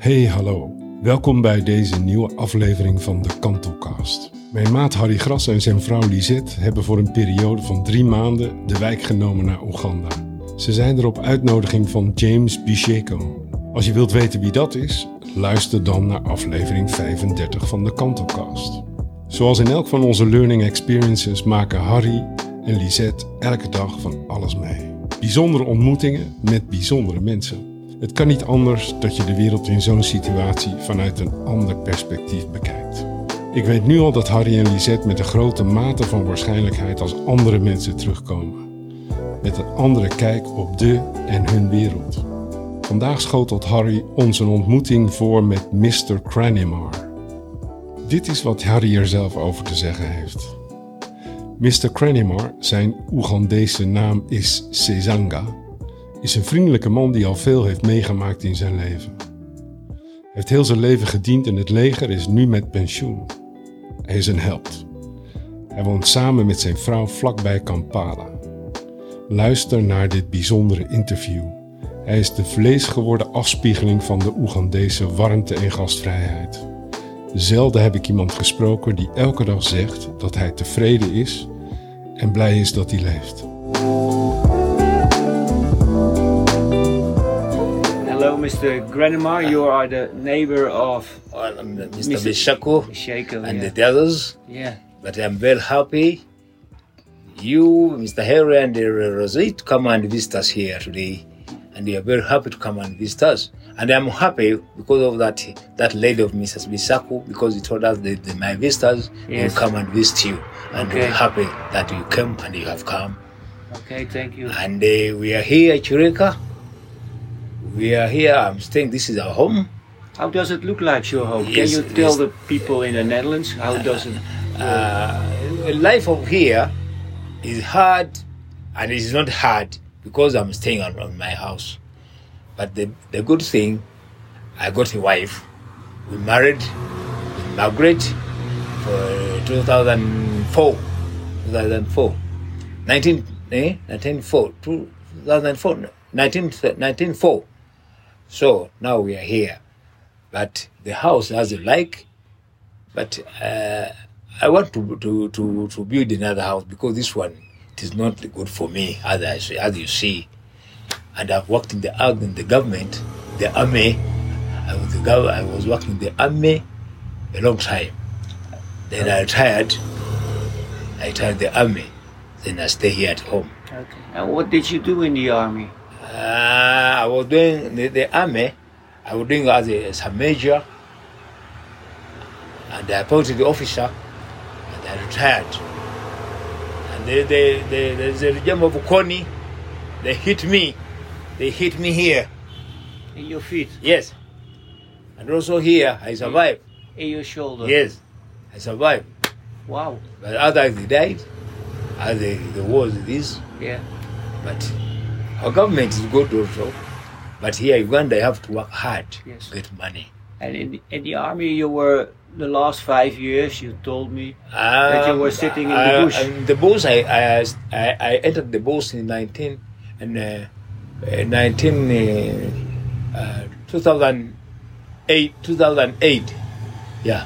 Hey, hallo. Welkom bij deze nieuwe aflevering van de Kantelcast. Mijn maat Harry Gras en zijn vrouw Lisette hebben voor een periode van 3 maanden de wijk genomen naar Oeganda. Ze zijn er op uitnodiging van James Bisheko. Als je wilt weten wie dat is, luister dan naar aflevering 35 van de Kantelcast. Zoals in elk van onze learning experiences maken Harry en Lisette elke dag van alles mee. Bijzondere ontmoetingen met bijzondere mensen. Het kan niet anders dat je de wereld in zo'n situatie vanuit een ander perspectief bekijkt. Ik weet nu al dat Harry en Lisette met een grote mate van waarschijnlijkheid als andere mensen terugkomen. Met een andere kijk op de en hun wereld. Vandaag schotelt Harry ons een ontmoeting voor met Mr. Cranimar. Dit is wat Harry er zelf over te zeggen heeft. Mr. Cranimar, zijn Oegandese naam is Sezanga, is een vriendelijke man die al veel heeft meegemaakt in zijn leven. Hij heeft heel zijn leven gediend in het leger en is nu met pensioen. Hij is een held. Hij woont samen met zijn vrouw vlakbij Kampala. Luister naar dit bijzondere interview. Hij is de vleesgeworden afspiegeling van de Oegandese warmte en gastvrijheid. Zelden heb ik iemand gesproken die elke dag zegt dat hij tevreden is en blij is dat hij leeft. Hello, Mr. Cranimar. You are the neighbor of Mr. Bishako and the others. Yeah. But I'm very happy you, Mr. Harry and Rosette, come and visit us here today. And we are very happy to come and visit us. And I'm happy because of that lady of Mrs. Bishako, because he told us that my visitors will come and visit you. And we're happy that you came and you have come. Okay, thank you. And we are here at Chureka. We are here, I'm staying, this is our home. How does it look like your home? Yes, Can you tell the people in the Netherlands how does it life over here is hard, and it is not hard because I'm staying on my house. But the good thing, I got a wife. We married with Margaret for 2004. 1904. So now we are here. But the house has a like. But I want to build another house because this one, it is not good for me, as you see. And I've worked in the government, the army. I was working in the army a long time. Then I retired. I retired the army. Then I stay here at home. Okay. And what did you do in the army? I was doing the army. I was doing as a major. And I appointed the officer. And I retired. And there's a regime of Koni. They hit me. They hit me here. In your feet? Yes. And also here, I survived. In your shoulder? Yes, I survived. Wow. But others, they died. Others, the war is this. Yeah. But our government is good also. But here in Uganda, you have to work hard to get money. And in the army, you were the last 5 years. You told me that you were sitting in the bush. In the bush, I entered the bush in 2008. Yeah.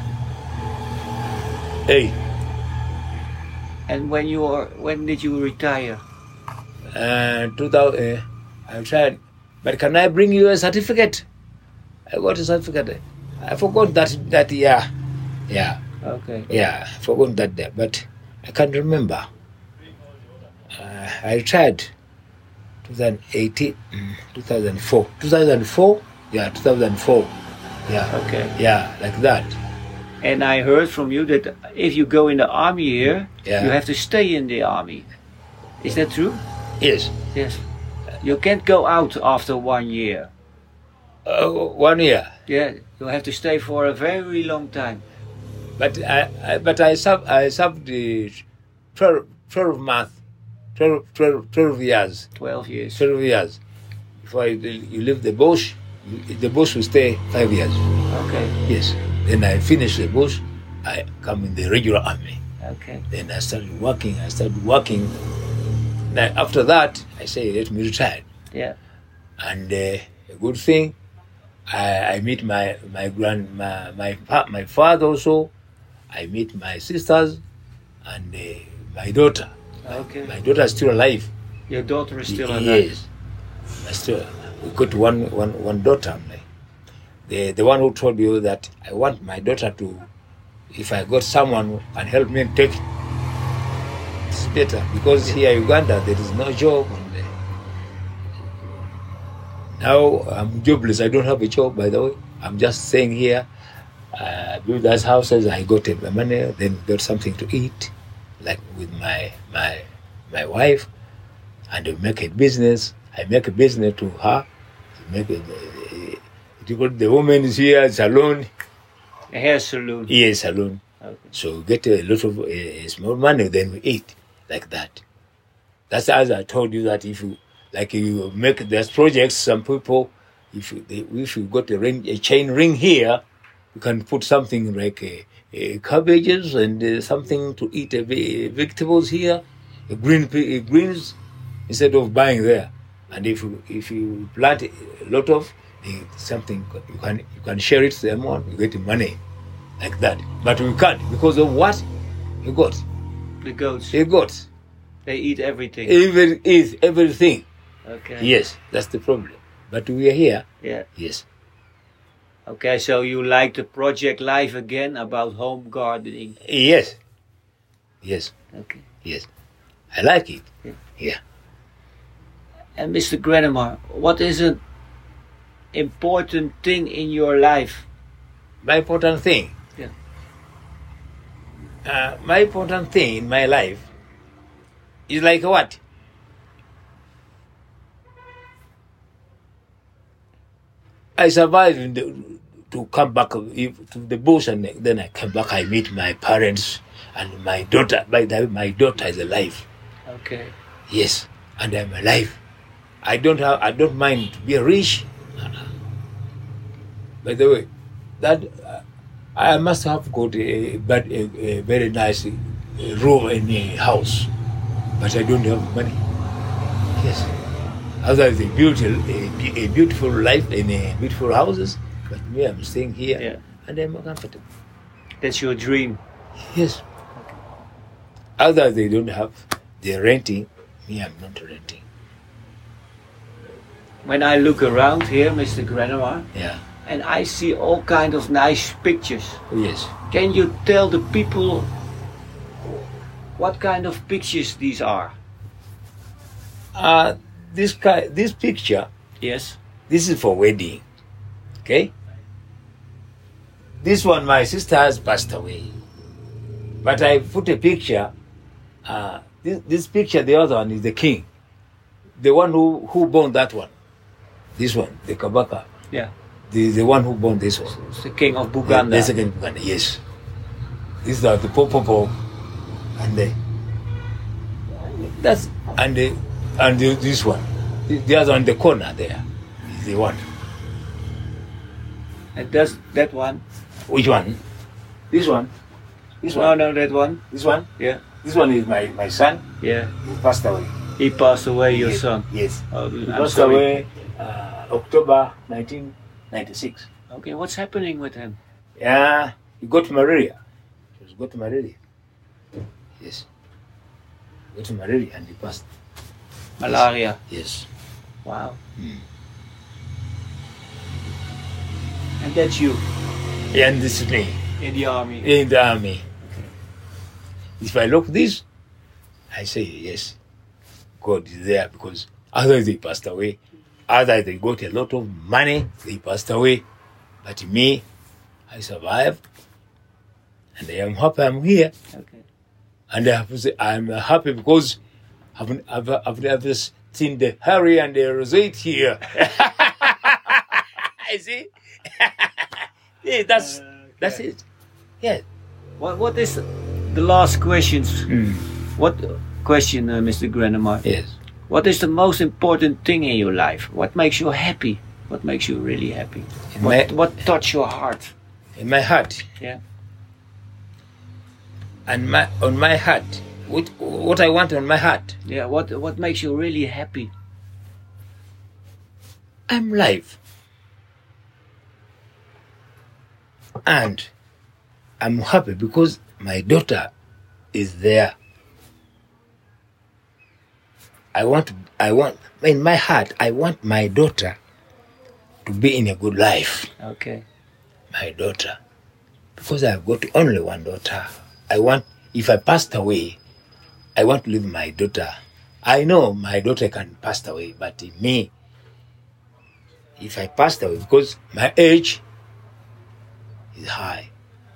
8. And when did you retire? 2000. I tried, but can I bring you a certificate? I got a certificate. I forgot that year. Yeah. Okay. Yeah, I forgot that day, but I can't remember. I tried 2018, 2004. 2004? Yeah, 2004. Yeah. Okay. Yeah, like that. And I heard from you that if you go in the army here, Yeah. you have to stay in the army. Is that true? Yes. Yes. You can't go out after 1 year. 1 year. Yeah, you have to stay for a very long time. But I served the 12 months, 12 years. 12 years. 12 years. Before you leave the bush, the bush will stay 5 years. Okay. Yes. Then I finish the bush, I come in the regular army. Okay. Then I started working. Now after that, I say let me retire. Yeah. And a good thing, I meet my father also. I meet my sisters and my daughter. Okay. My daughter is still alive. Your daughter is still alive? Yes. We got one daughter. The one who told you that I want my daughter to, if I got someone who can help me take it, it's better. Because here in Uganda, there is no job. Now I'm jobless. I don't have a job, by the way. I'm just staying here. Build those houses. I got my money, then got something to eat, like with my wife, and we make a business. I make a business to her. Make it. The woman is here, salon. A hair salon. Yes, salon. Okay. So we get a lot of small money, then we eat like that. That's as I told you that if you make these projects, some people, if you got a chain ring here, you can put something like cabbages and something to eat, vegetables here, greens, instead of buying there. And if you plant a lot of something, you can share it to them on, you get money like that. But we can't because of what you got. The goats. The goats. They eat everything. Eat everything. Okay. Yes, that's the problem. But we are here. Yeah. Yes. Okay, so you like the project Life Again about home gardening? Yes. Yes. Okay. Yes. I like it. Yeah. And Mr. Grenemer, what is an important thing in your life? My important thing? Yeah. My important thing in my life is like what? I survived to come back to the bush, and then I come back. I meet my parents and my daughter. My daughter is alive. Okay. Yes, and I'm alive. I don't mind to be rich. By the way, that I must have got a very nice room in a house, but I don't have money. Yes. Others they built a beautiful life in beautiful houses, but me, I'm staying here and I'm comfortable. That's your dream? Yes. Others they don't have, they're renting. Me, I'm not renting. When I look around here, Mr. Grenemer, and I see all kind of nice pictures. Yes. Can you tell the people what kind of pictures these are? This picture. Yes. This is for wedding. Okay. This one, my sister has passed away, but I put a picture. This picture, the other one is the king, the one who born that one. This one, the Kabaka. Yeah. The one who born this one. It's the king of Buganda. The second Buganda, yes. These are the Popopo, and this one, the other one, the corner there, is the one. And does that one? Which one? This one. This one. No, that one. This one. Yeah. This one is my son. Yeah. He passed away. He passed away, your son? Yes. Oh, he passed away October 1996. Okay, what's happening with him? Yeah, he got malaria. He got malaria. Yes. He got malaria and he passed. Malaria? Yes. Wow. And that's you? Yeah, and this is me. In the army? In the army. Okay. If I look this, I say yes, God is there, because others they passed away, others they got a lot of money, they passed away, but me, I survived, and I am happy I'm here. Okay. And I have to say I'm happy because I've never seen the Harry and the Rosette here. I see. Yeah, that's it. Yeah. What is the last questions? What question, Mr. Grenemer? Yes. What is the most important thing in your life? What makes you happy? What makes you really happy? What touches your heart? In my heart. Yeah. And on my heart, what I want on my heart. Yeah. What makes you really happy? I'm live. And I'm happy because my daughter is there. I want, in my heart, I want my daughter to be in a good life. Okay. My daughter. Because I've got only one daughter. If I passed away, I want to leave my daughter. I know my daughter can pass away, but me, if I passed away, because my age is high,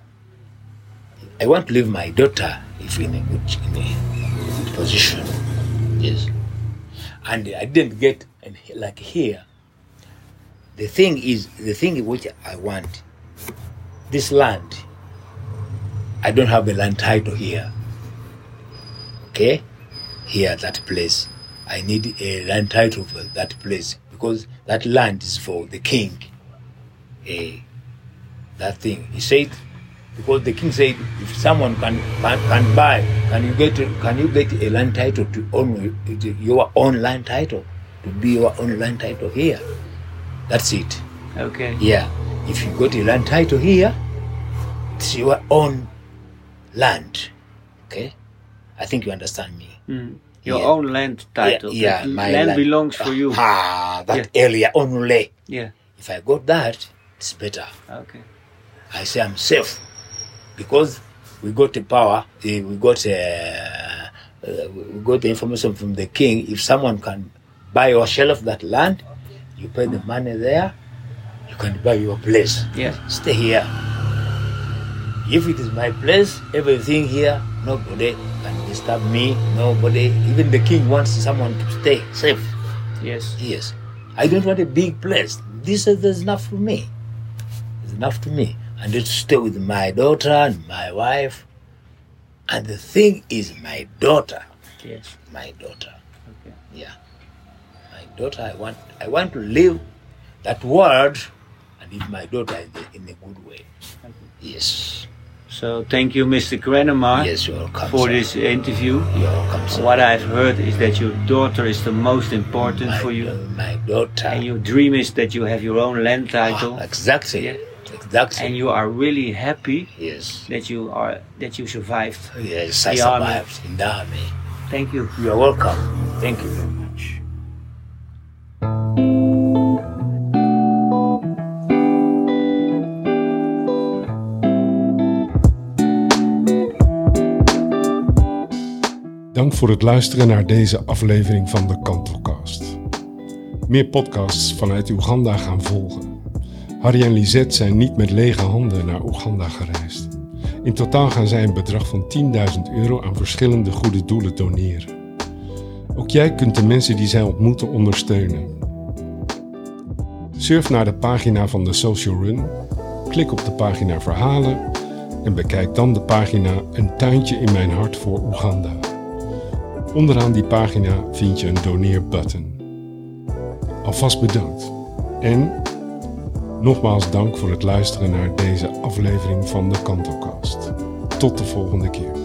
I want to leave my daughter in a good position. Yes. And I didn't get like here. The thing which I want, this land, I don't have a land title here. Okay? Here, that place. I need a land title for that place because that land is for the king. That thing. He said, because the king said, if someone can buy, can you get a land title to own your own land title, to be your own land title here? That's it. Okay. Yeah. If you got a land title here, it's your own land. Okay? I think you understand me. Your own land title. Yeah, my land belongs for you. That area only. Yeah. If I got that, it's better. Okay. I say I'm safe because we got the power. We got the information from the king. If someone can buy or sell off that land, you pay the money there. You can buy your place. Yeah. Stay here. If it is my place, everything here, nobody can disturb me. Nobody, even the king wants someone to stay safe. Yes. Yes. I don't want a big place. This is enough for me. It's enough to me. I need to stay with my daughter and my wife. And the thing is my daughter. Yes. My daughter. Okay. Yeah. My daughter, I want to live that world and leave my daughter in a good way. Okay. Yes. So thank you, Mr. Krenemar, Yes, you're welcome, for sir. this interview. You're welcome, sir. What I've heard is that your daughter is the most important for you. My daughter. And your dream is that you have your own land title. Exactly. Yeah. Exactly. And you are really happy Yes. that you survived. Yes, I the army. survived in the army. Thank you. You are welcome. Thank you very much. Dank voor het luisteren naar deze aflevering van de Kantelcast. Meer podcasts vanuit Oeganda gaan volgen. Harry en Lisette zijn niet met lege handen naar Oeganda gereisd. In totaal gaan zij een bedrag van €10.000 aan verschillende goede doelen doneren. Ook jij kunt de mensen die zij ontmoeten ondersteunen. Surf naar de pagina van de Social Run, klik op de pagina Verhalen en bekijk dan de pagina Een tuintje in mijn hart voor Oeganda. Onderaan die pagina vind je een doneerbutton. Alvast bedankt. En nogmaals dank voor het luisteren naar deze aflevering van de Kantelcast. Tot de volgende keer.